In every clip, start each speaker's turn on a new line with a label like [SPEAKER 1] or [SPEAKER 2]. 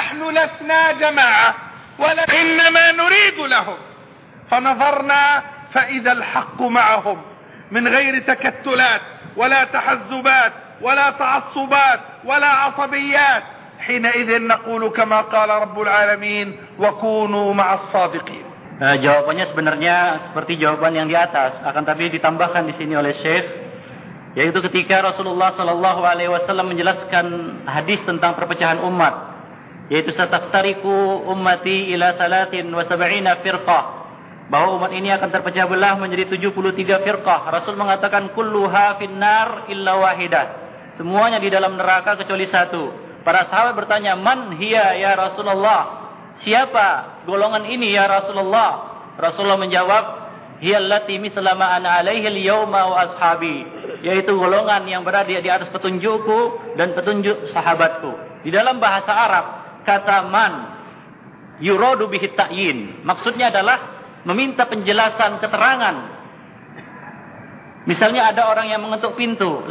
[SPEAKER 1] نحن لسنا جماعة إنما نريد لهم. فنظرنا فإذا الحق معهم من غير تكتلات ولا تحزبات ولا تعصبات ولا عصبيات. حينئذ نقول كما قال رب العالمين وكونوا مع الصادقين.
[SPEAKER 2] Jawabannya sebenarnya seperti jawaban yang di atas, akan tapi ditambahkan di sini oleh Syekh, yaitu ketika Rasulullah sallallahu alaihi wasallam menjelaskan hadis tentang perpecahan umat, yaitu sataftariku ummati ila 73 firqah, bahwa umat ini akan terpecah belah menjadi 73 firqah. Rasul mengatakan kulluha finnar illa wahidah, semuanya di dalam neraka kecuali satu. Para sahabat bertanya, man hiya ya Rasulullah, siapa golongan ini ya Rasulullah? Rasulullah menjawab, hiya allati mithla ma ana alaihi al-yawma wa ashabi, yaitu golongan yang berada di atas petunjukku dan petunjuk sahabatku. Di dalam bahasa Arab, kata man yuradu bihi ta'yin, maksudnya adalah meminta penjelasan, keterangan. Misalnya ada orang yang mengetuk pintu,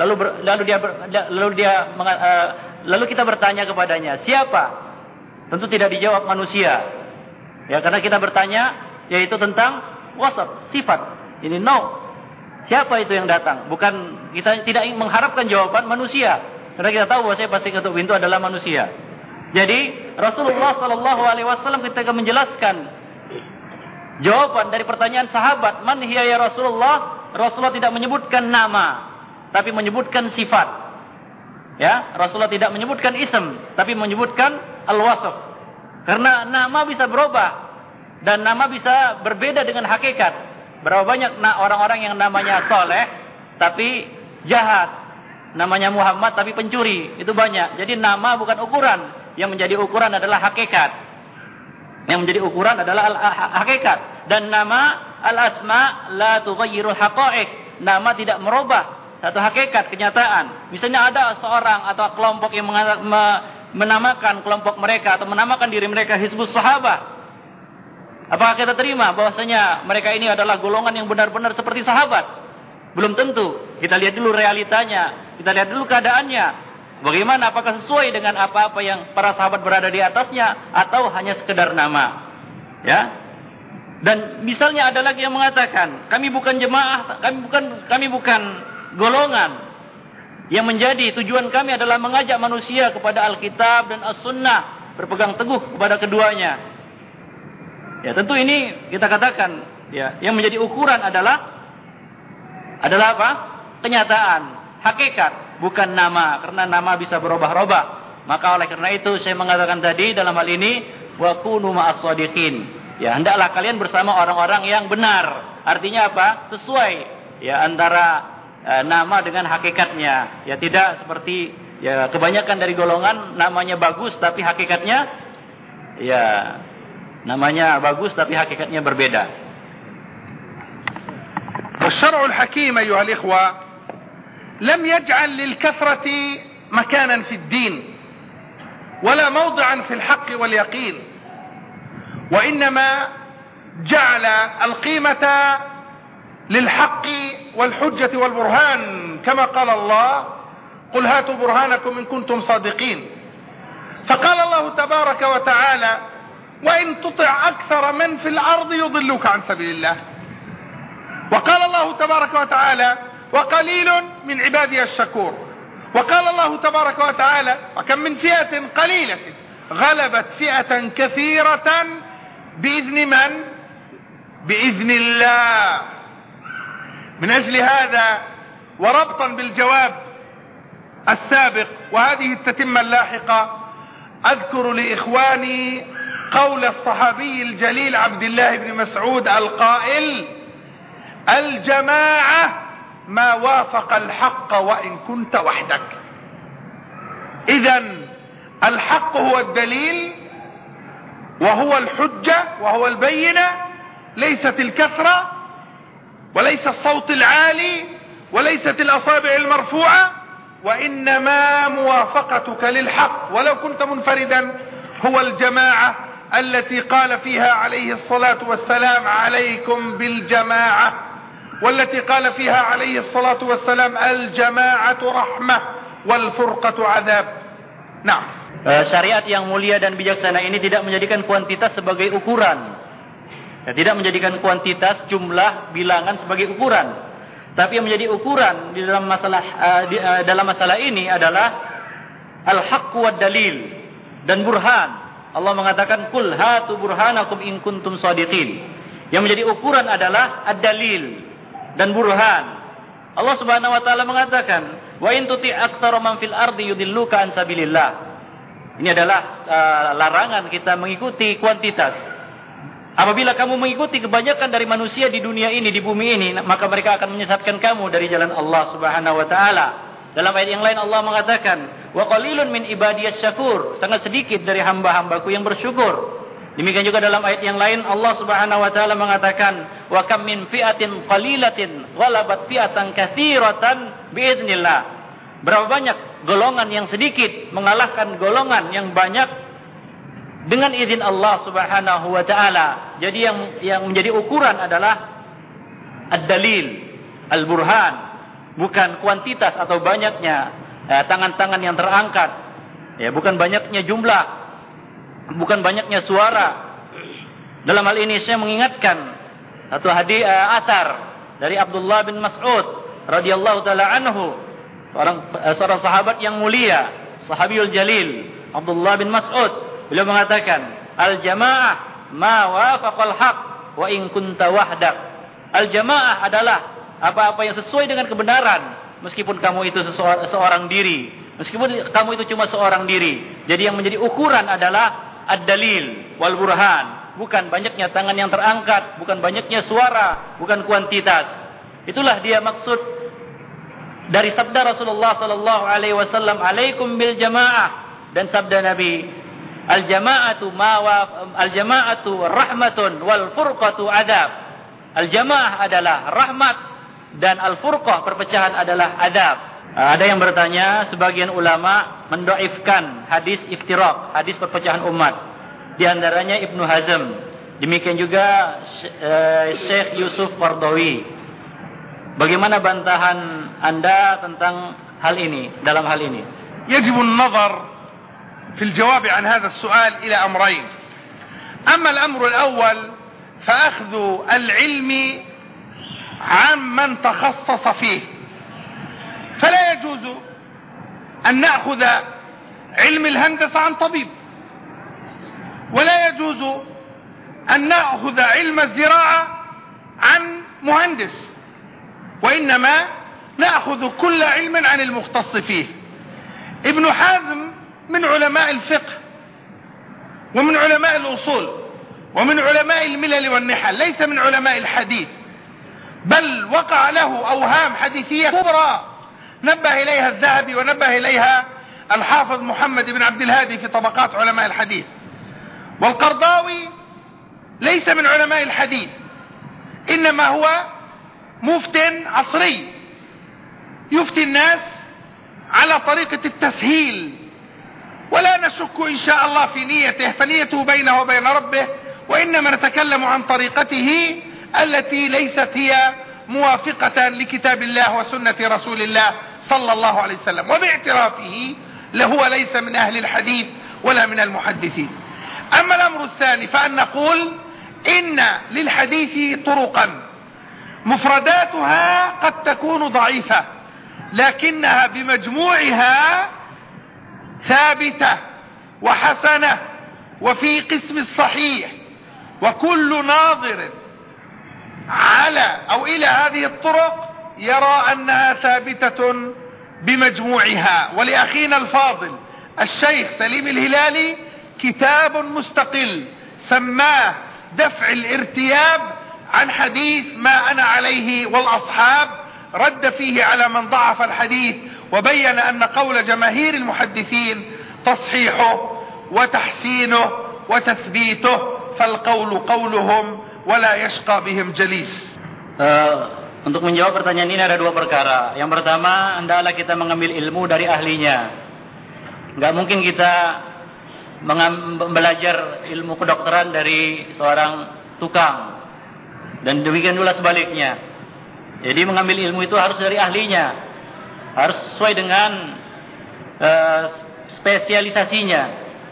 [SPEAKER 2] lalu kita bertanya kepadanya, siapa? Tentu tidak dijawab manusia. Ya, karena kita bertanya yaitu tentang wasaf, sifat. Ini siapa itu yang datang? Bukan, kita tidak mengharapkan jawaban manusia. Karena kita tahu bahwa saya pasti ketuk pintu adalah manusia. Jadi Rasulullah sallallahu alaihi wasallam ketika menjelaskan jawaban dari pertanyaan sahabat, man hiya ya Rasulullah, Rasulullah tidak menyebutkan nama, tapi menyebutkan sifat. Ya, Rasulullah tidak menyebutkan ism, tapi menyebutkan al-wasf. Karena nama bisa berubah dan nama bisa berbeda dengan hakikat. Berapa banyak orang-orang yang namanya soleh tapi jahat, namanya Muhammad tapi pencuri, itu banyak. Jadi nama bukan ukuran, yang menjadi ukuran adalah hakikat. Yang menjadi ukuran adalah hakikat. Dan nama al-asma la tughayyirul haqa'iq, nama tidak merubah satu hakikat, kenyataan. Misalnya ada seorang atau kelompok yang menamakan kelompok mereka atau menamakan diri mereka Hizbus Sahabah. Apakah kita terima bahwasanya mereka ini adalah golongan yang benar-benar seperti sahabat? Belum tentu. Kita lihat dulu realitanya, kita lihat dulu keadaannya. Bagaimana, apakah sesuai dengan apa-apa yang para sahabat berada di atasnya atau hanya sekedar nama? Ya. Dan misalnya ada lagi yang mengatakan, kami bukan jemaah, kami bukan golongan yang menjadi tujuan kami adalah mengajak manusia kepada Alkitab dan As-Sunnah, berpegang teguh kepada keduanya. Ya, tentu ini kita katakan, ya, yang menjadi ukuran adalah apa? Kenyataan, hakikat, bukan nama, karena nama bisa berubah-ubah. Maka oleh karena itu saya mengatakan tadi dalam hal ini wa kunu ma'as shadiqin. Ya, hendaklah kalian bersama orang-orang yang benar. Artinya apa? Sesuai ya antara nama dengan hakikatnya. Ya, tidak seperti ya kebanyakan dari golongan namanya bagus tapi hakikatnya ya namanya bagus tapi hakikatnya berbeda.
[SPEAKER 1] والشرع الحكيم أيها الإخوة لم يجعل للكثرة مكانا في الدين ولا موضعا في الحق واليقين، وإنما جعل القيمة للحق والحجة والبرهان، كما قال الله قل هاتوا برهانكم إن كنتم صادقين. فقال الله تبارك وتعالى وإن تطع أكثر من في الأرض يضلوك عن سبيل الله. وقال الله تبارك وتعالى وقليل من عبادي الشكور. وقال الله تبارك وتعالى وكم من فئة قليلة غلبت فئة كثيرة بإذن من؟ بإذن الله. من أجل هذا وربطا بالجواب السابق وهذه التتمة اللاحقة أذكر لإخواني قول الصحابي الجليل عبد الله بن مسعود القائل الجماعة ما وافق الحق وإن كنت وحدك. إذن الحق هو الدليل وهو الحجة وهو البينة، ليست الكثرة وليس الصوت العالي وليست الأصابع المرفوعة، وإنما موافقتك للحق ولو كنت منفردا. هو الجماعة التي قال فيها عليه الصلاة والسلام عليكم بالجماعة، والتي قال فيها عليه الصلاة والسلام الجماعة رحمة والفرقة عذاب. نعم.
[SPEAKER 2] Syariat yang mulia dan bijaksana ini tidak menjadikan kuantitas sebagai ukuran. Ya, tidak menjadikan kuantitas, jumlah, bilangan sebagai ukuran. Tapi yang menjadi ukuran di dalam masalah ini adalah al-haqq wad dalil dan burhan. Allah mengatakan kul hatu burhanakum in kuntum shadiqin. Yang menjadi ukuran adalah ad-dalil dan burhan. Allah Subhanahu wa taala mengatakan wa in tuti aktsara man fil ardi yudilluka an sabilillah. Ini adalah larangan kita mengikuti kuantitas. Apabila kamu mengikuti kebanyakan dari manusia di dunia ini, di bumi ini, maka mereka akan menyesatkan kamu dari jalan Allah Subhanahu wa taala. Dalam ayat yang lain Allah mengatakan, "Wa qalilun min ibadiyas syakur." Sangat sedikit dari hamba-hambaku yang bersyukur. Demikian juga dalam ayat yang lain Allah Subhanahu wa taala mengatakan, "Wa kam min fi'atin qalilatin ghalabat fi'atan katsiratan biiznillah." Berapa banyak golongan yang sedikit mengalahkan golongan yang banyak dengan izin Allah Subhanahu wa taala. Jadi yang menjadi ukuran adalah ad-dalil, al-burhan, bukan kuantitas atau banyaknya tangan-tangan yang terangkat. Ya, bukan banyaknya jumlah, bukan banyaknya suara. Dalam hal ini saya mengingatkan satu hadis asar dari Abdullah bin Mas'ud radhiyallahu taala anhu. Seorang sahabat yang mulia, sahabiyul jalil, Abdullah bin Mas'ud. Beliau mengatakan, al-jamaah ma wafaqal haq wa in kunta wahdak. Al-jamaah adalah apa-apa yang sesuai dengan kebenaran, meskipun kamu itu seorang diri, meskipun kamu itu cuma seorang diri. Jadi yang menjadi ukuran adalah ad-dalil wal burhan, bukan banyaknya tangan yang terangkat, bukan banyaknya suara, bukan kuantitas. Itulah dia maksud dari sabda Rasulullah sallallahu alaihi wasallam, "Alaikum bil jamaah." Dan sabda Nabi, "Al-jama'atu al-jama'atu rahmatun wal furqatu adab." Al-jamaah adalah rahmat dan al-furqah perpecahan adalah adab. Ada yang bertanya, sebagian ulama mendoifkan hadis iftiraq, hadis perpecahan umat. Di antaranya Ibnu Hazm. Demikian juga Syekh Yusuf Qardawi. Bagaimana bantahan Anda tentang hal ini, dalam hal ini?
[SPEAKER 1] يجب النظر في الجواب عن هذا السؤال إلى أمرين. أما الأمر الأول فأخذ العلم عمن تخصص فيه، فلا يجوز أن نأخذ علم الهندسة عن طبيب، ولا يجوز أن نأخذ علم الزراعة عن مهندس، وإنما نأخذ كل علم عن المختص فيه. ابن حزم من علماء الفقه ومن علماء الأصول ومن علماء الملل والنحل، ليس من علماء الحديث، بل وقع له أوهام حديثية كبرى نبه إليها الذهبي ونبه إليها الحافظ محمد بن عبد الهادي في طبقات علماء الحديث. والقرضاوي ليس من علماء الحديث، إنما هو مفت عصري يفتي الناس على طريقة التسهيل، ولا نشك إن شاء الله في نيته، فنيته بينه وبين ربه، وإنما نتكلم عن طريقته التي ليست هي موافقة لكتاب الله وسنة رسول الله صلى الله عليه وسلم، وباعترافه هو ليس من أهل الحديث ولا من المحدثين. أما الأمر الثاني فأن نقول إن للحديث طرقا مفرداتها قد تكون ضعيفة، لكنها بمجموعها ثابتة وحسنة وفي قسم الصحيح، وكل ناظر على أو إلى هذه الطرق يرى أنها ثابتة بمجموعها. ولأخينا الفاضل الشيخ سليم الهلالي كتاب مستقل سماه دفع الارتياب عن حديث ما أنا عليه والأصحاب، رد فيه على من ضعف الحديث وبين أن قول جماهير المحدثين تصحيحه وتحسينه وتثبيته، فالقول قولهم ولا يشقى بهم جليس.
[SPEAKER 2] Untuk menjawab pertanyaan ini ada dua perkara. Yang pertama, hendaklah kita mengambil ilmu dari ahlinya. Nggak mungkin kita belajar ilmu kedokteran dari seorang tukang. Dan demikian pula sebaliknya. Jadi mengambil ilmu itu harus dari ahlinya, harus sesuai dengan spesialisasinya.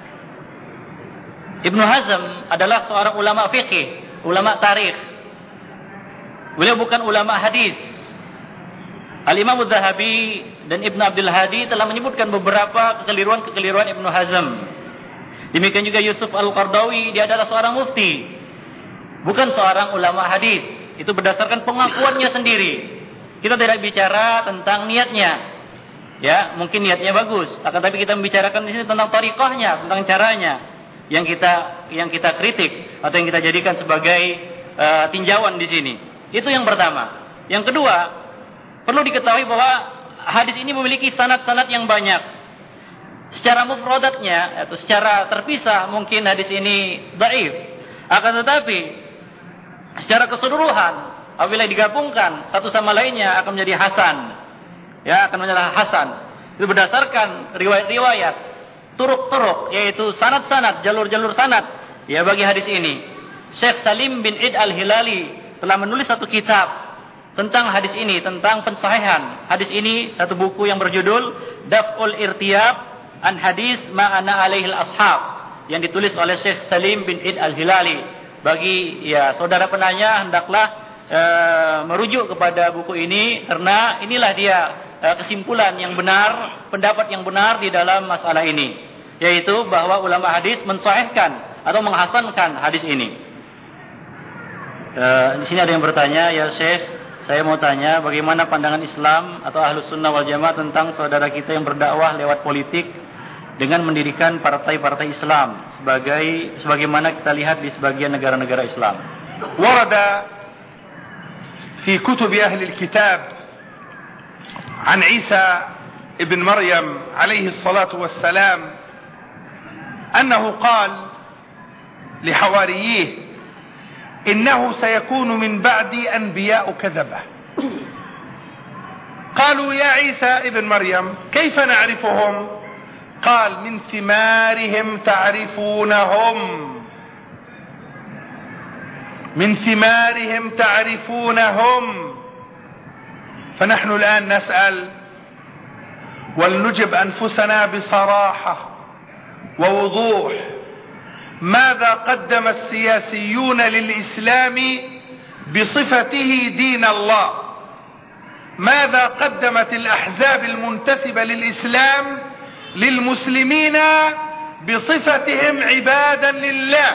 [SPEAKER 2] Ibnu Hazm adalah seorang ulama fikih, ulama tarikh. Beliau bukan ulama hadis. Al-Imam Az-Zahabi dan Ibnu Abdul Hadi telah menyebutkan beberapa kekeliruan-kekeliruan Ibnu Hazm. Demikian juga Yusuf Al-Qardawi, dia adalah seorang mufti, bukan seorang ulama hadis. Itu berdasarkan pengakuannya sendiri. Kita tidak bicara tentang niatnya. Ya, mungkin niatnya bagus, akan tapi kita membicarakan di sini tentang thariqahnya, tentang caranya yang kita kritik atau yang kita jadikan sebagai tinjauan di sini. Itu yang pertama. Yang kedua, perlu diketahui bahwa hadis ini memiliki sanad-sanad yang banyak. Secara mufradatnya atau secara terpisah mungkin hadis ini dhaif. Akan tetapi secara keseluruhan apabila digabungkan satu sama lainnya akan menjadi hasan. Ya, akan menjadi hasan. Itu berdasarkan riwayat-riwayat, turuk-turuk, yaitu sanad-sanad, jalur-jalur sanad ya bagi hadis ini. Syekh Salim bin Id Al-Hilali telah menulis satu kitab tentang hadis ini, tentang pensahihan hadis ini, satu buku yang berjudul Daf'ul Irtiyab an Hadis Ma'ana Alaihil Ashab, yang ditulis oleh Syekh Salim bin Id Al-Hilali. Bagi ya saudara penanya, hendaklah merujuk kepada buku ini, karena inilah dia kesimpulan yang benar, pendapat yang benar di dalam masalah ini, yaitu bahwa ulama hadis mensahihkan atau menghasankan hadis ini. Di sini ada yang bertanya, ya Syekh, saya mau tanya bagaimana pandangan Islam atau Ahlus Sunnah wal Jamaah tentang saudara kita yang berdakwah lewat politik dengan mendirikan partai-partai Islam sebagaimana kita lihat di sebagian negara-negara Islam.
[SPEAKER 1] Warada fi kutub ahli al-kitab an Isa ibn Maryam alayhi salatu wassalam annahu qala li hawariyih إنه سيكون من بعدي أنبياء كذبة. قالوا يا عيسى ابن مريم كيف نعرفهم؟ قال من ثمارهم تعرفونهم، من ثمارهم تعرفونهم. فنحن الآن نسأل ولنجب أنفسنا بصراحة ووضوح، ماذا قدم السياسيون للإسلام بصفته دين الله؟ ماذا قدمت الأحزاب المنتسبة للإسلام للمسلمين بصفتهم عبادا لله؟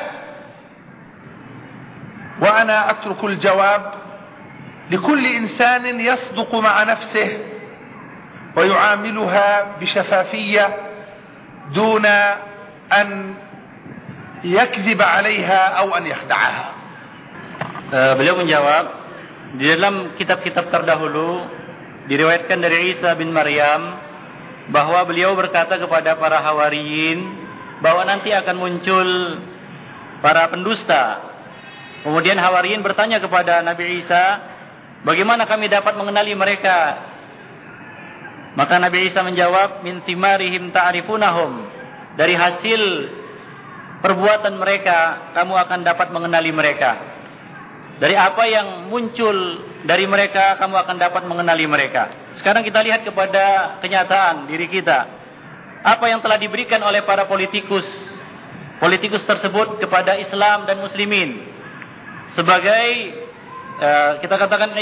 [SPEAKER 1] وأنا أترك الجواب لكل إنسان يصدق مع نفسه ويعاملها بشفافية دون أن yakzib 'alaiha aw an yakhda'aha.
[SPEAKER 2] Beliau menjawab, di dalam kitab-kitab terdahulu diriwayatkan dari Isa bin Maryam bahwa beliau berkata kepada para hawariyin bahwa nanti akan muncul para pendusta. Kemudian hawariyin bertanya kepada Nabi Isa, bagaimana kami dapat mengenali mereka? Maka Nabi Isa menjawab, min thimarihim ta'rifunahum, dari hasil perbuatan mereka kamu akan dapat mengenali mereka. Dari apa yang muncul dari mereka kamu akan dapat mengenali mereka. Sekarang kita lihat kepada kenyataan diri kita. Apa yang telah diberikan oleh para politikus tersebut kepada Islam dan muslimin sebagai kita katakan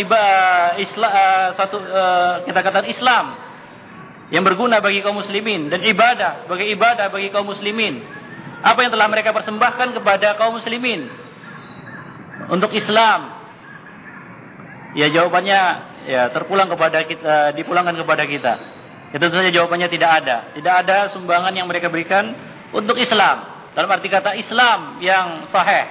[SPEAKER 2] Islam yang berguna bagi kaum muslimin, dan ibadah sebagai ibadah bagi kaum muslimin. Apa yang telah mereka persembahkan kepada kaum muslimin untuk Islam? Ya, jawabannya ya terpulang kepada kita, dipulangkan kepada kita. Itu saja jawabannya tidak ada. Tidak ada sumbangan yang mereka berikan untuk Islam. Dalam arti kata Islam yang sahih.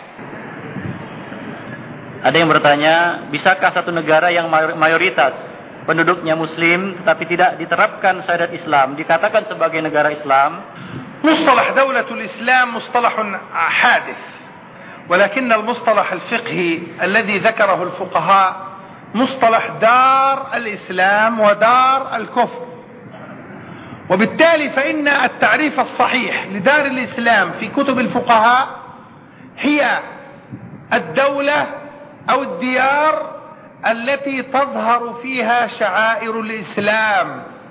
[SPEAKER 2] Ada yang bertanya, bisakah satu negara yang mayoritas penduduknya muslim tetapi tidak diterapkan syariat Islam dikatakan sebagai negara Islam?
[SPEAKER 1] مصطلح دولة الإسلام مصطلح حادث، ولكن المصطلح الفقهي الذي ذكره الفقهاء مصطلح دار الإسلام ودار الكفر. وبالتالي فإن التعريف الصحيح لدار الإسلام في كتب الفقهاء هي الدولة أو الديار التي تظهر فيها شعائر الإسلام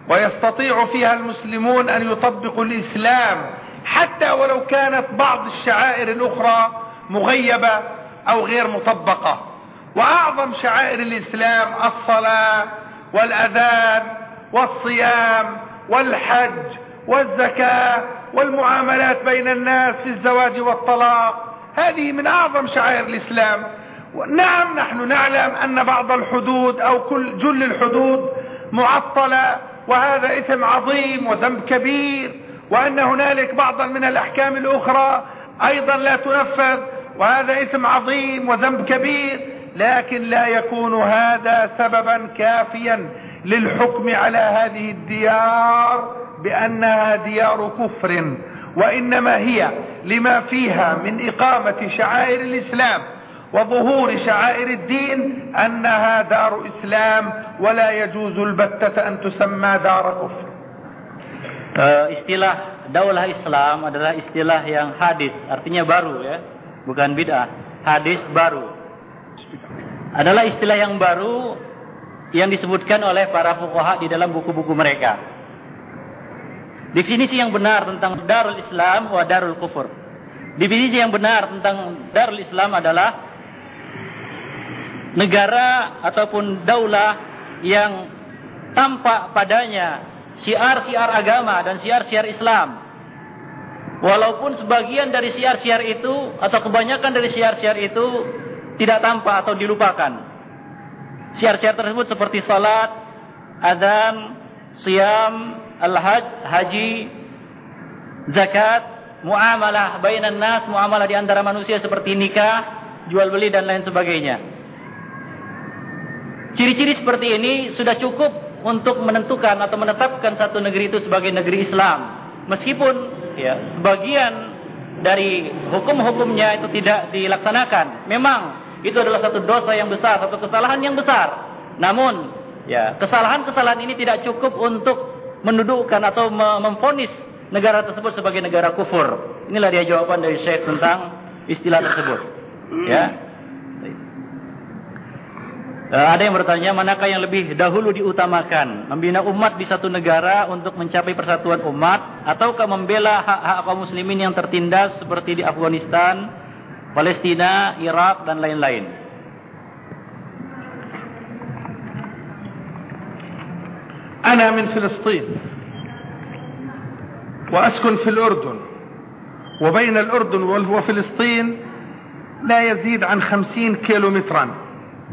[SPEAKER 1] ويستطيع فيها المسلمون أن يطبقوا الإسلام حتى ولو كانت بعض الشعائر الأخرى مغيبة أو غير مطبقة. وأعظم شعائر الإسلام الصلاة والأذان والصيام والحج والزكاة والمعاملات بين الناس في الزواج والطلاق، هذه من أعظم شعائر الإسلام. نعم، نحن نعلم أن بعض الحدود أو جل الحدود معطلة، وهذا إثم عظيم وذنب كبير، وأن هنالك بعضا من الأحكام الأخرى أيضا لا تنفذ، وهذا إثم عظيم وذنب كبير، لكن لا يكون هذا سببا كافيا للحكم على هذه الديار بأنها ديار كفر، وإنما هي لما فيها من إقامة شعائر الإسلام وظهور شعائر الدين أنها دار إسلام، ولا يجوز البتة أن تسمى دار كفر.
[SPEAKER 2] Istilah daulah Islam adalah istilah yang hadis, artinya baru ya, bukan bid'ah. Hadis baru adalah istilah yang baru yang disebutkan oleh para fuqaha di dalam buku-buku mereka. Definisi yang benar tentang Darul Islam wa Darul Kufur. Definisi yang benar tentang Darul Islam adalah negara ataupun daulah yang tampak padanya syiar-syiar agama dan syiar-syiar Islam. Walaupun sebagian dari syiar-syiar itu atau kebanyakan dari syiar-syiar itu tidak tampak atau dilupakan. Syiar-syiar tersebut seperti salat, adzan, siyam, al-hajj, haji, zakat, muamalah bainan nas, muamalah di antara manusia seperti nikah, jual beli dan lain sebagainya. Ciri-ciri seperti ini sudah cukup untuk menentukan atau menetapkan satu negeri itu sebagai negeri Islam. Meskipun ya sebagian dari hukum-hukumnya itu tidak dilaksanakan. Memang itu adalah satu dosa yang besar, satu kesalahan yang besar. Namun ya kesalahan-kesalahan ini tidak cukup untuk mendudukkan atau memvonis negara tersebut sebagai negara kufur. Inilah dia jawaban dari Syekh tentang istilah tersebut. Ya. Ada yang bertanya, manakah yang lebih dahulu diutamakan? Membina umat di satu negara untuk mencapai persatuan umat, ataukah membela hak-hak kaum muslimin yang tertindas seperti di Afghanistan, Palestina, Irak dan lain-lain?
[SPEAKER 1] أنا من فلسطين وأسكن في الأردن، وبين الأردن وفلسطين لا يزيد عن 50 كيلومترا،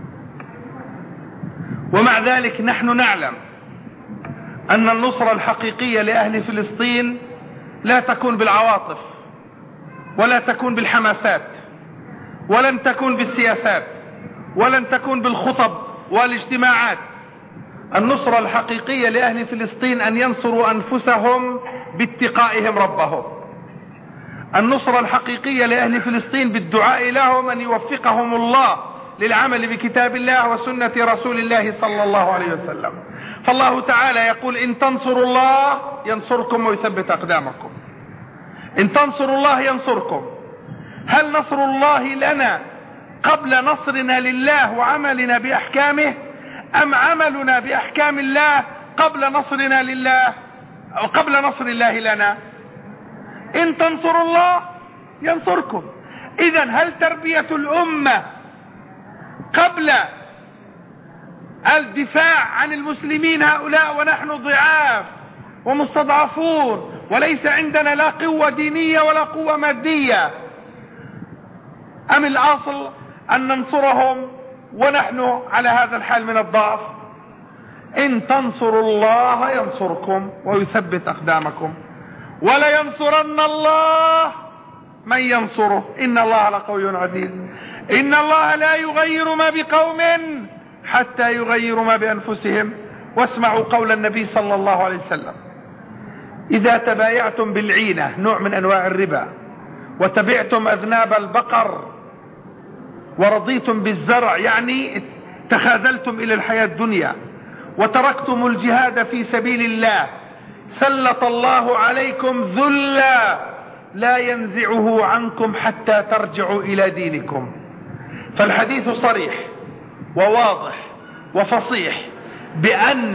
[SPEAKER 1] ومع ذلك نحن نعلم أن النصرة الحقيقية لأهل فلسطين لا تكون بالعواطف ولا تكون بالحماسات ولن تكون بالسياسات ولن تكون بالخطب والاجتماعات. النصرة الحقيقية لأهل فلسطين أن ينصروا أنفسهم باتقائهم ربهم. النصرة الحقيقية لأهل فلسطين بالدعاء لهم أن يوفقهم الله للعمل بكتاب الله وسنة رسول الله صلى الله عليه وسلم. فالله تعالى يقول: إن تنصروا الله ينصركم ويثبت أقدامكم. إن تنصروا الله ينصركم. هل نصر الله لنا قبل نصرنا لله وعملنا بأحكامه، أم عملنا بأحكام الله قبل نصرنا لله أو قبل نصر الله لنا؟ إن تنصروا الله ينصركم. إذن هل تربية الأمة قبل الدفاع عن المسلمين هؤلاء ونحن ضعاف ومستضعفون وليس عندنا لا قوة دينية ولا قوة مادية، أم الأصل أن ننصرهم ونحن على هذا الحال من الضعف؟ إن تنصروا الله ينصركم ويثبت أقدامكم ولينصرن الله من ينصره إن الله لقوي عزيز. إن الله لا يغير ما بقوم حتى يغيروا ما بأنفسهم. واسمعوا قول النبي صلى الله عليه وسلم: إذا تبايعتم بالعينة، نوع من أنواع الربا، وتبعتم أذناب البقر، ورضيتم بالزرع، يعني تخاذلتم إلى الحياة الدنيا، وتركتم الجهاد في سبيل الله، سلط الله عليكم ذلا لا ينزعه عنكم حتى ترجعوا إلى دينكم. فالحديث صريح وواضح وفصيح بأن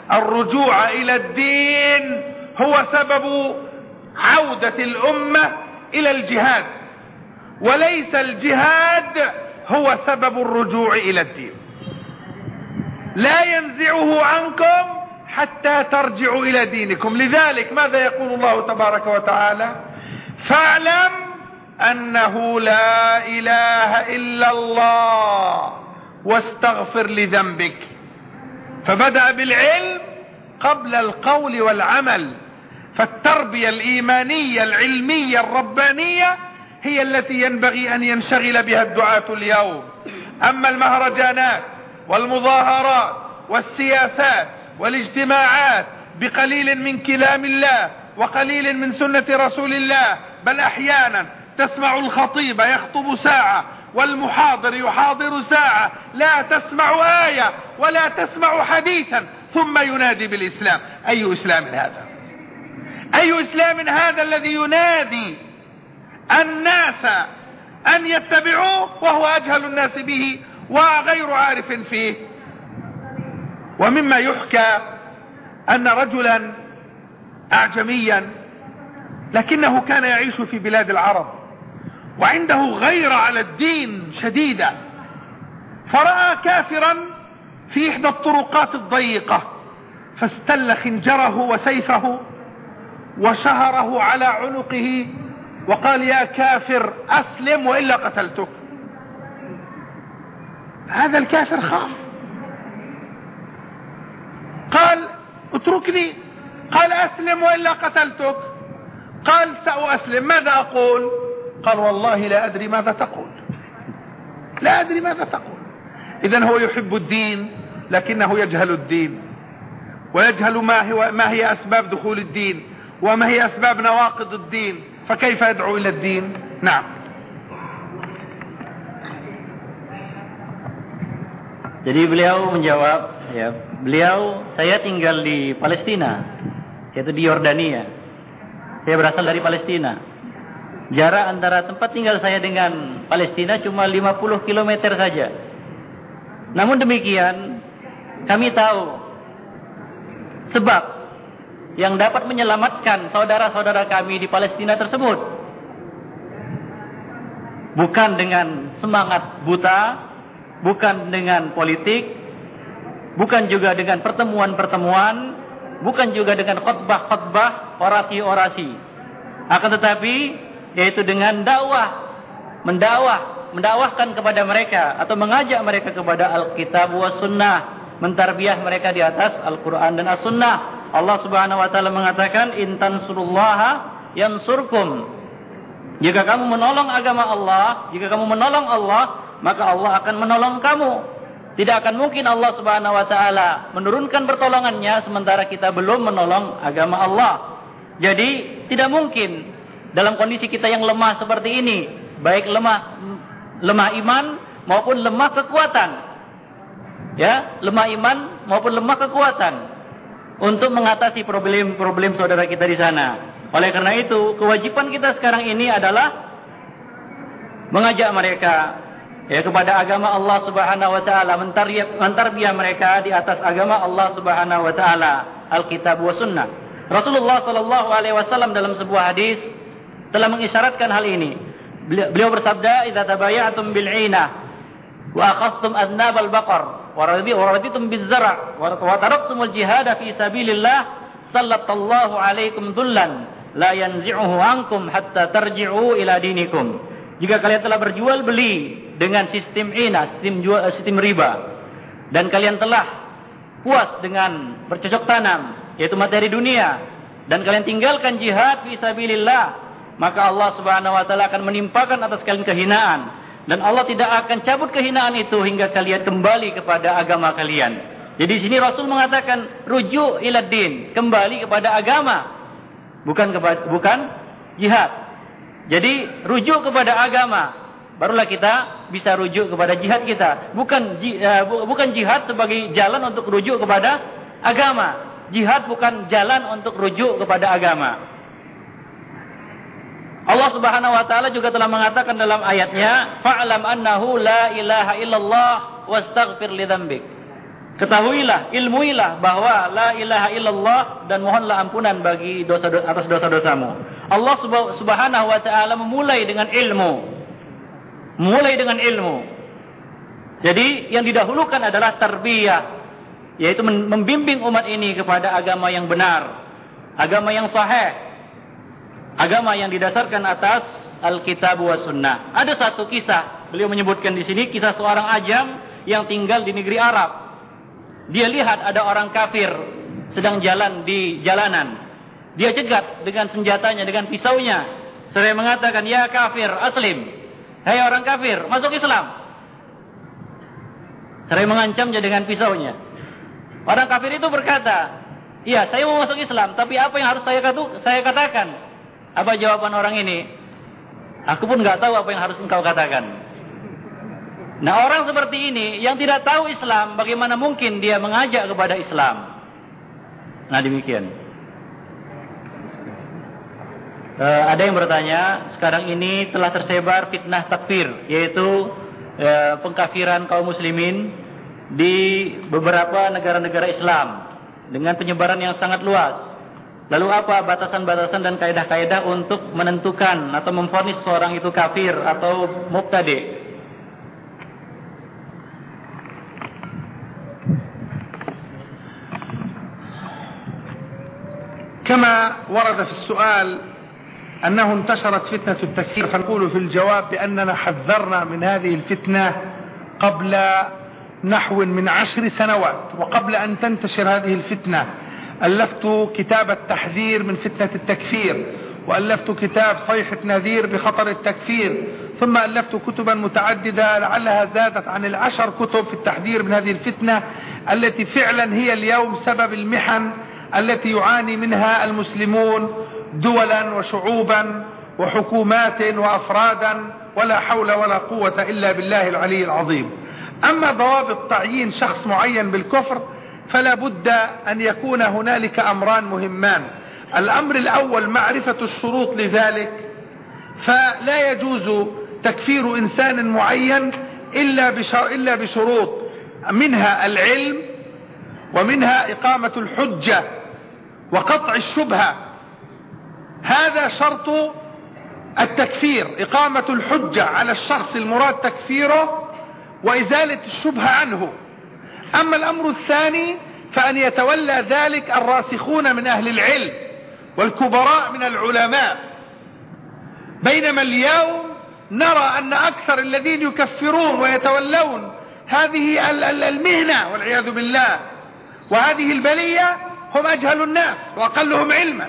[SPEAKER 1] الرجوع إلى الدين هو سبب عودة الأمة إلى الجهاد، وليس الجهاد هو سبب الرجوع إلى الدين. لا ينزعه عنكم حتى ترجعوا إلى دينكم. لذلك ماذا يقول الله تبارك وتعالى؟ فاعلم أنه لا إله إلا الله واستغفر لذنبك. فبدأ بالعلم قبل القول والعمل. فالتربية الإيمانية العلمية الربانية هي التي ينبغي أن ينشغل بها الدعاة اليوم. أما المهرجانات والمظاهرات والسياسات والاجتماعات بقليل من كلام الله وقليل من سنة رسول الله، بل أحيانا تسمع الخطيب يخطب ساعة والمحاضر يحاضر ساعة، لا تسمع آية ولا تسمع حديثا، ثم ينادي بالإسلام. أي إسلام هذا؟ أي إسلام هذا الذي ينادي الناس أن يتبعوه وهو أجهل الناس به وغير عارف فيه؟ ومما يحكى أن رجلا أعجميا لكنه كان يعيش في بلاد العرب وعنده غيرة على الدين شديدة، فرأى كافرا في إحدى الطرقات الضيقة فاستل خنجره وسيفه وشهره على عنقه وقال: يا كافر أسلم وإلا قتلتك. هذا الكافر خاف، قال: اتركني. قال: أسلم وإلا قتلتك. قال: سأسلم، ماذا أقول؟ قال: والله لا أدري ماذا تقول، لا أدري ماذا تقول. إذن هو يحب الدين لكنه يجهل الدين، ويجهل ما هي أسباب دخول الدين وما هي أسباب نواقض الدين، فكيف يدعو إلى الدين؟ نعم.
[SPEAKER 2] Jadi beliau menjawab, ya, saya tinggal di Palestina, yaitu di Yordania. Saya berasal dari Palestina. Jarak antara tempat tinggal saya dengan Palestina cuma 50 km saja. Namun demikian, kami tahu sebab yang dapat menyelamatkan saudara-saudara kami di Palestina tersebut. Bukan dengan semangat buta, bukan dengan politik, bukan juga dengan pertemuan-pertemuan, bukan juga dengan khutbah-khutbah, orasi-orasi. Akan tetapi yaitu dengan mendakwahkan kepada mereka atau mengajak mereka kepada Alkitab wa Sunnah, mentarbiah mereka di atas Al-Quran dan As-Sunnah. Allah Subhanahu wa taala mengatakan, "In tansurullaha yansurkum." Jika kamu menolong agama Allah, jika kamu menolong Allah, maka Allah akan menolong kamu. Tidak akan mungkin Allah Subhanahu wa taala menurunkan pertolongannya sementara kita belum menolong agama Allah. Jadi tidak mungkin dalam kondisi kita yang lemah seperti ini, baik lemah iman maupun lemah kekuatan. Ya, lemah iman maupun lemah kekuatan untuk mengatasi problem-problem saudara kita di sana. Oleh karena itu, kewajiban kita sekarang ini adalah mengajak mereka kepada agama Allah Subhanahu wa taala, mentarbiah mereka di atas agama Allah Subhanahu wa taala, Alkitab wa Sunnah. Rasulullah sallallahu alaihi wasallam dalam sebuah hadis telah mengisyaratkan hal ini. Beliau bersabda, "Idza tabaya'tum bil 'inah wa akhadhtum adnab al-baqar wa raditum biz-zar' wa taraktumul jihad fi sabilillah, sallallahu alaikum dhullan la yanzi'uhu ankum hatta tarji'u ila dinikum." Jika kalian telah berjual beli dengan sistem inah, sistem riba, dan kalian telah puas dengan bercocok tanam, yaitu materi dunia, dan kalian tinggalkan jihad fi sabilillah, maka Allah Subhanahu wa taala akan menimpakan atas kalian kehinaan, dan Allah tidak akan cabut kehinaan itu hingga kalian kembali kepada agama kalian. Jadi di sini Rasul mengatakan rujuk ila din, kembali kepada agama, bukan jihad. Jadi rujuk kepada agama, barulah kita bisa rujuk kepada jihad kita. Bukan jihad sebagai jalan untuk rujuk kepada agama. Jihad bukan jalan untuk rujuk kepada agama. Allah Subhanahu wa taala juga telah mengatakan dalam ayatnya, "Fa'lam annahu la ilaha illallah wastaghfir li dzambik." Ketahuilah, ilmuilah bahwa la ilaha illallah dan mohonlah ampunan bagi atas dosa-dosamu. Allah Subhanahu wa taala memulai dengan ilmu. Mulai dengan ilmu. Jadi yang didahulukan adalah tarbiyah, yaitu membimbing umat ini kepada agama yang benar, agama yang sahih, agama yang didasarkan atas Alkitab wa Sunnah. Ada satu kisah, beliau menyebutkan di sini kisah seorang ajam yang tinggal di negeri Arab. Dia lihat ada orang kafir sedang jalan di jalanan. Dia cegat dengan senjatanya, dengan pisaunya. Seraya mengatakan, "Ya kafir, aslim." Hai orang kafir, masuk Islam. Seraya mengancamnya dengan pisaunya. Orang kafir itu berkata, "Iya, saya mau masuk Islam, tapi apa yang harus saya katakan?" Apa jawaban orang ini? "Aku pun enggak tahu apa yang harus engkau katakan." Nah, orang seperti ini yang tidak tahu Islam, bagaimana mungkin dia mengajak kepada Islam? Nah, demikian. Ada yang bertanya, sekarang ini telah tersebar fitnah takfir, yaitu pengkafiran kaum muslimin di beberapa negara-negara Islam dengan penyebaran yang sangat luas. Lalu apa batasan-batasan dan kaidah-kaidah untuk menentukan atau memvonis seorang itu kafir atau mubtadi'?
[SPEAKER 1] كما ورد في السؤال أنه انتشرت فتنة التكفير، فنقول في الجواب بأننا حذرنا من هذه الفتنة قبل نحو من 10 سنوات، وقبل أن تنتشر هذه الفتنة ألفت كتاب التحذير من فتنة التكفير، وألفت كتاب صيحة نذير بخطر التكفير، ثم ألفت كتبا متعددة لعلها زادت عن 10 كتب في التحذير من هذه الفتنة التي فعلا هي اليوم سبب المحن التي يعاني منها المسلمون دولا وشعوبا وحكومات وأفرادا، ولا حول ولا قوة إلا بالله العلي العظيم. أما ضوابط تعيين شخص معين بالكفر فلا بد أن يكون هنالك أمران مهمان. الأمر الأول معرفة الشروط لذلك، فلا يجوز تكفير إنسان معين إلا بشروط، منها العلم، ومنها إقامة الحجة وقطع الشبهة. هذا شرط التكفير، إقامة الحجة على الشخص المراد تكفيره وإزالة الشبهة عنه. أما الأمر الثاني فأن يتولى ذلك الراسخون من أهل العلم والكبراء من العلماء، بينما اليوم نرى أن أكثر الذين يكفرون ويتولون هذه المهنة والعياذ بالله وهذه البلية هم أجهل الناس وأقلهم علما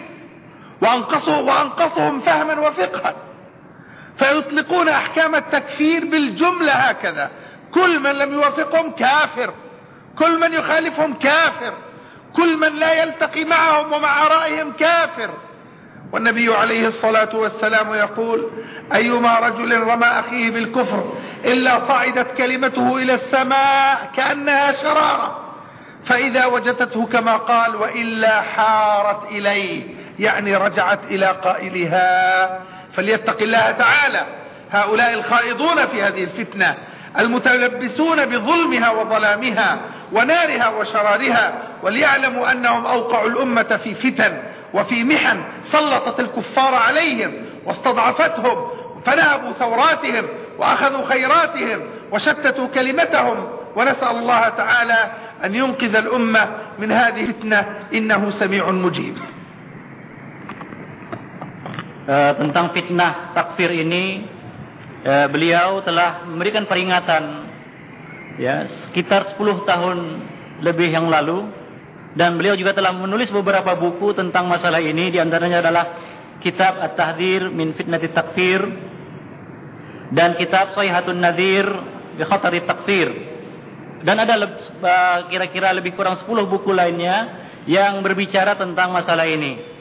[SPEAKER 1] وأنقصهم فهما وفقها، فيطلقون أحكام التكفير بالجملة هكذا: كل من لم يوافقهم كافر، كل من يخالفهم كافر، كل من لا يلتقي معهم ومع آرائهم كافر. والنبي عليه الصلاة والسلام يقول: أيما رجل رمى أخيه بالكفر إلا صعدت كلمته إلى السماء كأنها شرارة، فإذا وجدته كما قال وإلا حارت إليه، يعني رجعت إلى قائلها. فليتق الله تعالى هؤلاء الخائضون في هذه الفتنة المتلبسون بظلمها وظلامها ونارها وشرارها، وليعلموا أنهم أوقعوا الأمة في فتن وفي محن سلطت الكفار عليهم واستضعفتهم، فنهبوا ثوراتهم وأخذوا خيراتهم وشتتوا كلمتهم. ونسأل الله تعالى أن ينقذ الأمة من هذه الفتنة إنه سميع مجيب.
[SPEAKER 2] Tentang fitnah takfir ini, beliau telah memberikan peringatan ya sekitar 10 tahun lebih yang lalu, dan beliau juga telah menulis beberapa buku tentang masalah ini. Di antaranya adalah kitab At-Tahdhir min Fitnati Takfir dan kitab Shayhatun Nadhir bi Khatari Takfir, dan ada kira-kira lebih kurang 10 buku lainnya yang berbicara tentang masalah ini.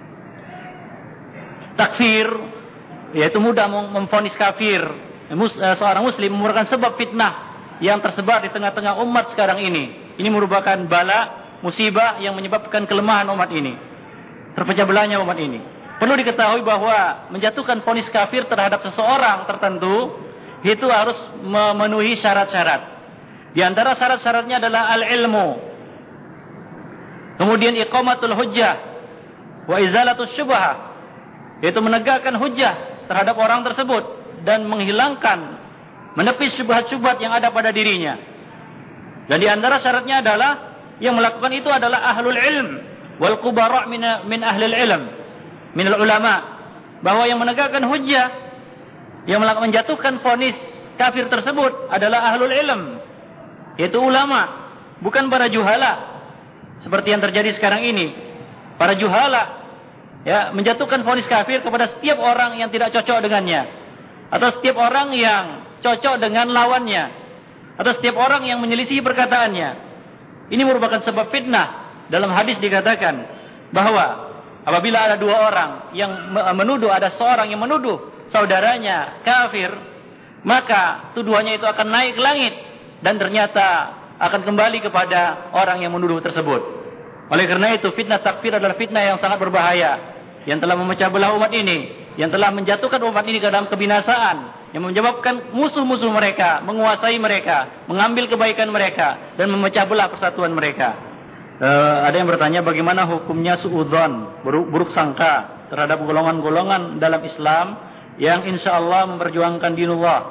[SPEAKER 2] Takfir yaitu mudah memvonis kafir seorang muslim merupakan sebab fitnah yang tersebar di tengah-tengah umat sekarang ini. Ini merupakan bala musibah yang menyebabkan kelemahan umat ini, terpecah belahnya umat ini. Perlu diketahui bahwa menjatuhkan vonis kafir terhadap seseorang tertentu itu harus memenuhi syarat-syarat. Di antara syarat-syaratnya adalah al-ilmu. Kemudian iqamatul hujjah wa izalatus syubhah, yaitu menegakkan hujjah terhadap orang tersebut dan menghilangkan, menepis syubhat-syubhat yang ada pada dirinya. Dan di antara syaratnya adalah yang melakukan itu adalah ahlul ilm wal kubara min ahlil ilm, minal ulama, bahwa yang menegakkan hujjah, yang menjatuhkan vonis kafir tersebut adalah ahlul ilm, yaitu ulama, bukan para juhala seperti yang terjadi sekarang ini. Para juhala menjatuhkan vonis kafir kepada setiap orang yang tidak cocok dengannya, atau setiap orang yang cocok dengan lawannya, atau setiap orang yang menyelisihi perkataannya. Ini merupakan sebab fitnah. Dalam hadis dikatakan bahwa apabila ada dua orang yang menuduh, ada seorang yang menuduh saudaranya kafir, maka tuduhannya itu akan naik ke langit dan ternyata akan kembali kepada orang yang menuduh tersebut. Oleh karena itu, fitnah takfir adalah fitnah yang sangat berbahaya, yang telah memecah belah umat ini, yang telah menjatuhkan umat ini ke dalam kebinasaan, yang menyebabkan musuh-musuh mereka menguasai mereka, mengambil kebaikan mereka, dan memecah belah persatuan mereka. Ada yang bertanya bagaimana hukumnya suudzon, buruk sangka terhadap golongan-golongan dalam Islam yang insya Allah memperjuangkan dinullah.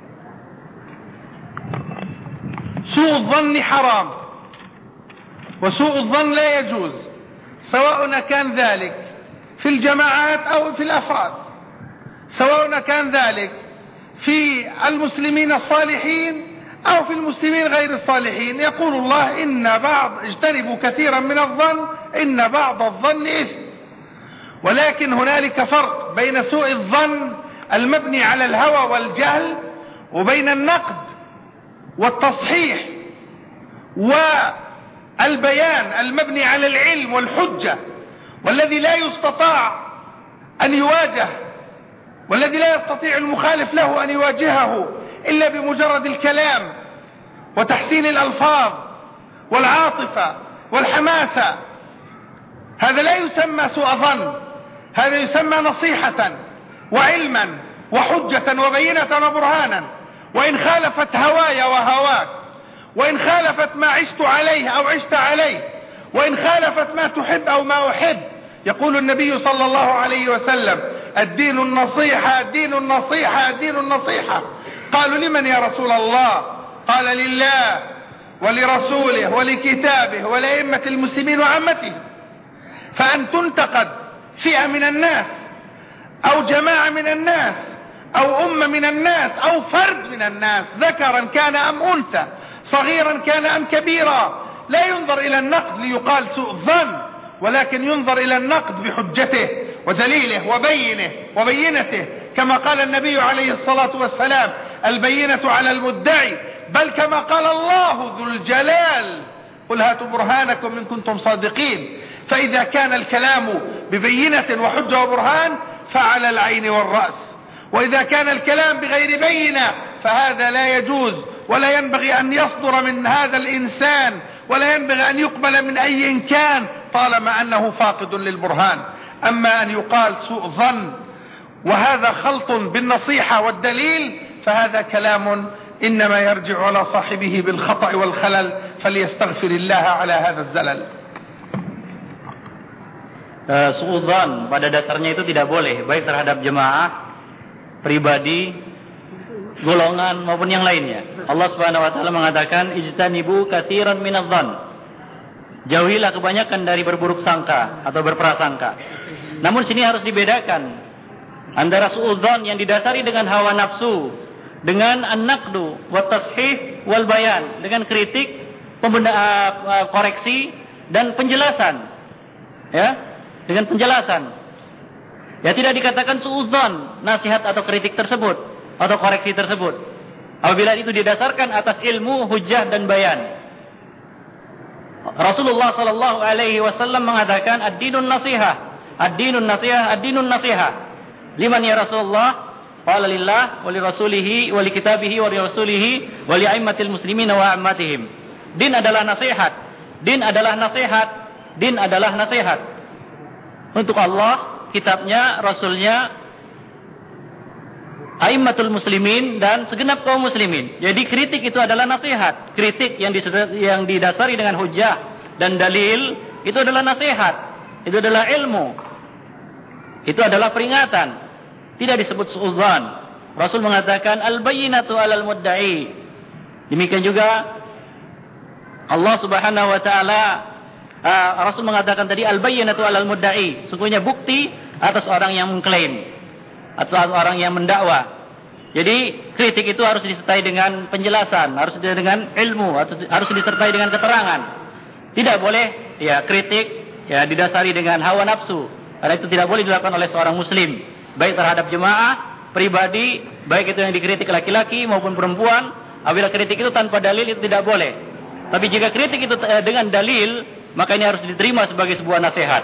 [SPEAKER 1] Suudzon haram, wa suudzon la yajuz, سواء كان ذلك في الجماعات أو في الأفراد، سواء كان ذلك في المسلمين الصالحين أو في المسلمين غير الصالحين. يقول الله اجتنبوا كثيرا من الظن إن بعض الظن إثم. ولكن هنالك فرق بين سوء الظن المبني على الهوى والجهل وبين النقد والتصحيح والبيان المبني على العلم والحجة، والذي لا يستطاع أن يواجه، والذي لا يستطيع المخالف له أن يواجهه إلا بمجرد الكلام وتحسين الألفاظ والعاطفة والحماسة. هذا لا يسمى سوء ظن، هذا يسمى نصيحة وعلما وحجة وبينة وبرهانا. وإن خالفت هواي وهواك، وإن خالفت ما عشت عليه أو عشت عليه، وإن خالفت ما تحب أو ما أحب، يقول النبي صلى الله عليه وسلم: الدين النصيحة، الدين النصيحة، الدين النصيحة. قالوا: لمن يا رسول الله؟ قال: لله ولرسوله ولكتابه ولأئمة المسلمين وعامته. فأن تنتقد فئة من الناس أو جماعة من الناس أو أمة من الناس أو فرد من الناس، ذكرا كان أم أنثى، صغيرا كان أم كبيرا، لا ينظر إلى النقد ليقال سوء ظن، ولكن ينظر إلى النقد بحجته ودليله وبينته، كما قال النبي عليه الصلاة والسلام: البينة على المدعي، بل كما قال الله ذو الجلال: قل هاتوا برهانكم إن كنتم صادقين. فإذا كان الكلام ببينة وحجة وبرهان فعلى العين والرأس، وإذا كان الكلام بغير بينة فهذا لا يجوز، ولا ينبغي أن يصدر من هذا الإنسان، ولا ينبغي أن يقبل من أي إن كان طالما أنه فاقد للبرهان. أما أن يقال سوء ظن وهذا خلط بالنصيحة والدليل فهذا كلام إنما يرجع على صاحبه بالخطأ والخلل، فليستغفر الله على هذا الزلل.
[SPEAKER 2] Suudzon pada dasarnya itu tidak boleh, baik terhadap jemaah, pribadi, golongan maupun yang lainnya. Allah Subhanahu wa taala mengatakan: ijtanibu katsiran minadh-dhon. Jauhilah kebanyakan dari berburuk sangka atau berprasangka. Namun sini harus dibedakan antara suudzon yang didasari dengan hawa nafsu, dengan an-naqdu wa tashih wal bayan, dengan kritik, koreksi dan penjelasan. Dengan penjelasan. Tidak dikatakan suudzon nasihat atau kritik tersebut atau koreksi tersebut apabila itu didasarkan atas ilmu, hujjah dan bayan. Rasulullah sallallahu alaihi wasallam mengatakan ad-dinun nasihah, ad-dinun nasihah, ad-dinun nasihah. Liman ya Rasulullah? Qala lillah wa li rasulihi wa li kitabihi wa li rasulihi wa li aimmatil muslimin wa ammatihim. Din adalah nasihat. Din adalah nasihat. Din adalah nasihat. Untuk Allah, kitabnya, rasulnya, aimmatul muslimin dan segenap kaum muslimin. Jadi kritik itu adalah nasihat. Kritik yang didasari dengan hujjah dan dalil itu adalah nasihat. Itu adalah ilmu. Itu adalah peringatan. Tidak disebut suudzon. Rasul mengatakan al-bayyinatu 'alal mudda'i. Demikian juga Allah Subhanahu wa taala Rasul mengatakan tadi al-bayyinatu 'alal mudda'i. Sungguhnya bukti atas orang yang mengklaim, atau orang yang mendakwa. Jadi kritik itu harus disertai dengan penjelasan, harus disertai dengan ilmu, harus disertai dengan keterangan. Tidak boleh ya kritik ya didasari dengan hawa nafsu. Karena itu tidak boleh dilakukan oleh seorang muslim, baik terhadap jemaah, pribadi, baik itu yang dikritik laki-laki maupun perempuan. Apabila kritik itu tanpa dalil itu tidak boleh. Tapi jika kritik itu dengan dalil, maka ini harus diterima sebagai sebuah nasihat.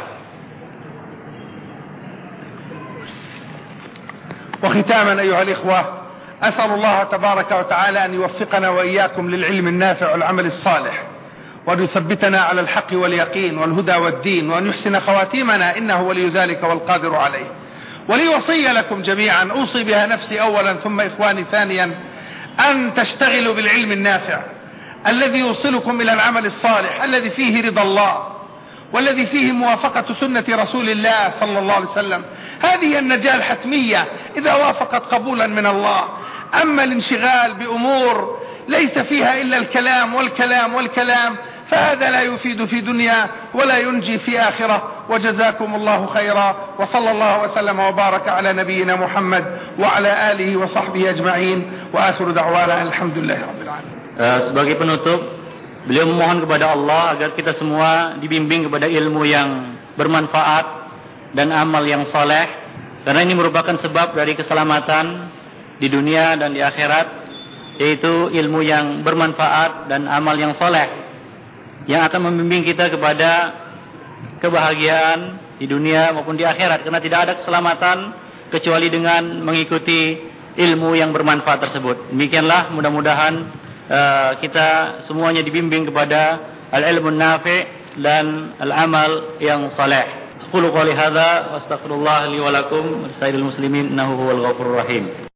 [SPEAKER 1] وختاما أيها الإخوة، أسأل الله تبارك وتعالى أن يوفقنا وإياكم للعلم النافع والعمل الصالح، وأن يثبتنا على الحق واليقين والهدى والدين، وأن يحسن خواتيمنا إنه ولي ذلك والقادر عليه. ولي وصية لكم جميعا أوصي بها نفسي أولا ثم إخواني ثانيا، أن تشتغلوا بالعلم النافع الذي يوصلكم إلى العمل الصالح الذي فيه رضا الله والذي فيه موافقة سنة رسول الله صلى الله عليه وسلم. هذه النجاة الحتمية إذا وافقت قبولا من الله. أما الانشغال بأمور ليس فيها إلا الكلام والكلام والكلام فهذا لا يفيد في دنيا ولا ينجي في آخرة. وجزاكم الله خيرا، وصلى الله وسلم وبارك على نبينا محمد وعلى آله وصحبه أجمعين، وآخر دعوانا الحمد لله رب العالمين.
[SPEAKER 2] Sebagai penutup, beliau memohon kepada Allah agar kita semua dibimbing kepada ilmu yang bermanfaat dan amal yang soleh, karena ini merupakan sebab dari keselamatan di dunia dan di akhirat, yaitu ilmu yang bermanfaat dan amal yang soleh yang akan membimbing kita kepada kebahagiaan di dunia maupun di akhirat, karena tidak ada keselamatan kecuali dengan mengikuti ilmu yang bermanfaat tersebut. Demikianlah, mudah-mudahan kita semuanya dibimbing kepada al-ilmu nafi' dan al-amal yang saleh. Qulu qouli hadza wa astaghfirullah li wa lakum wa lisa'iril muslimin innahu huwal ghafurur rahim.